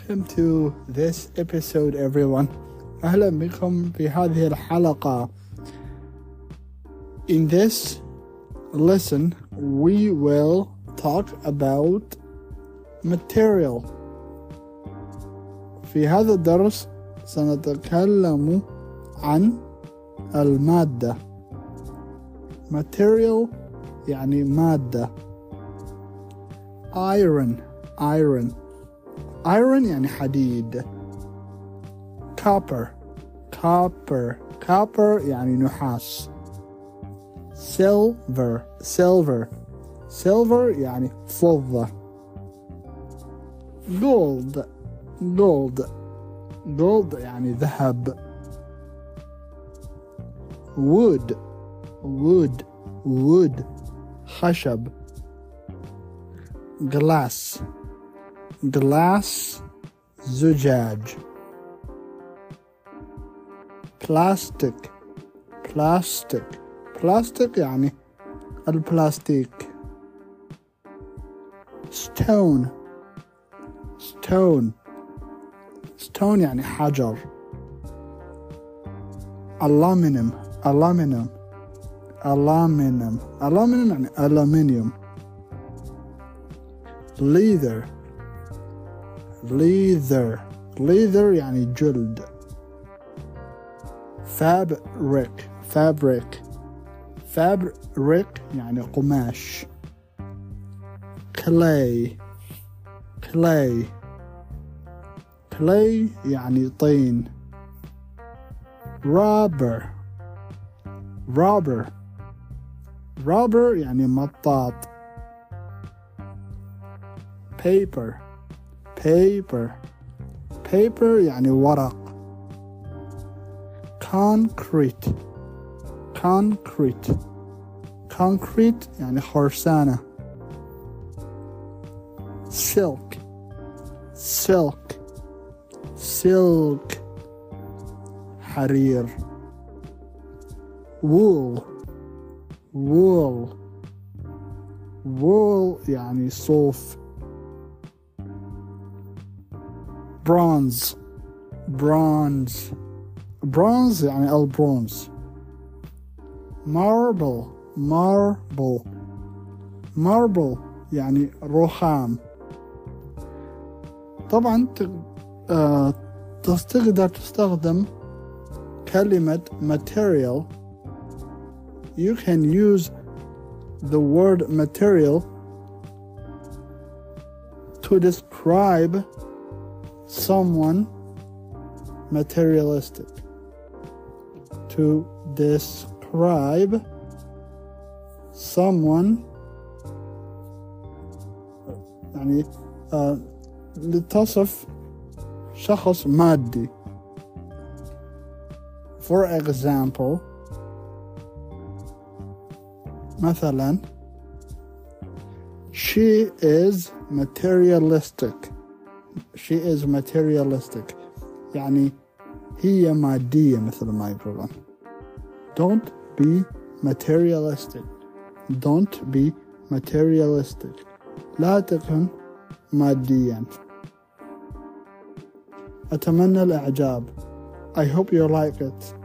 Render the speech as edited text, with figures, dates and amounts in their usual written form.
Welcome to this episode everyone. أهلا بكم في هذه الحلقة. In this lesson we will talk about material. في هذا الدرس سنتكلم عن المادة. Material يعني مادة. Iron يعني حديد. Copper يعني نحاس. Silver يعني فضة. Gold يعني ذهب. Wood خشب. Glass زجاج. Plastic يعني البلاستيك. Stone يعني حجر. Aluminum يعني ألمنيوم. Leather يعني جلد. Fabric يعني قماش. Clay يعني طين. Rubber يعني مطاط. Paper يعني ورق. Concrete يعني خرسانة. Silk حرير. Wool يعني صوف. Bronze يعني البرونز. Marble يعني رخام. طبعا تقدر تستخدم كلمة material. You can use the word material to describe someone materialistic. To describe someone يعني لتصف شخص مادي. For example مثلا she is materialistic يعني هي مادية مثل ما يقولون. Don't be materialistic. لا تكن ماديا. أتمنى الإعجاب. I hope you like it.